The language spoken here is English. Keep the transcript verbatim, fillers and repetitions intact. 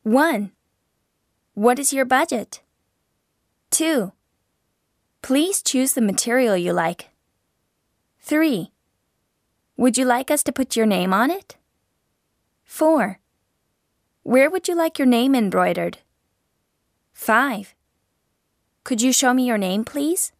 one. What is your budget? two. Please choose the material you like. three. Would you like us to put your name on it? four. Where would you like your name embroidered? five. Could you show me your name, please?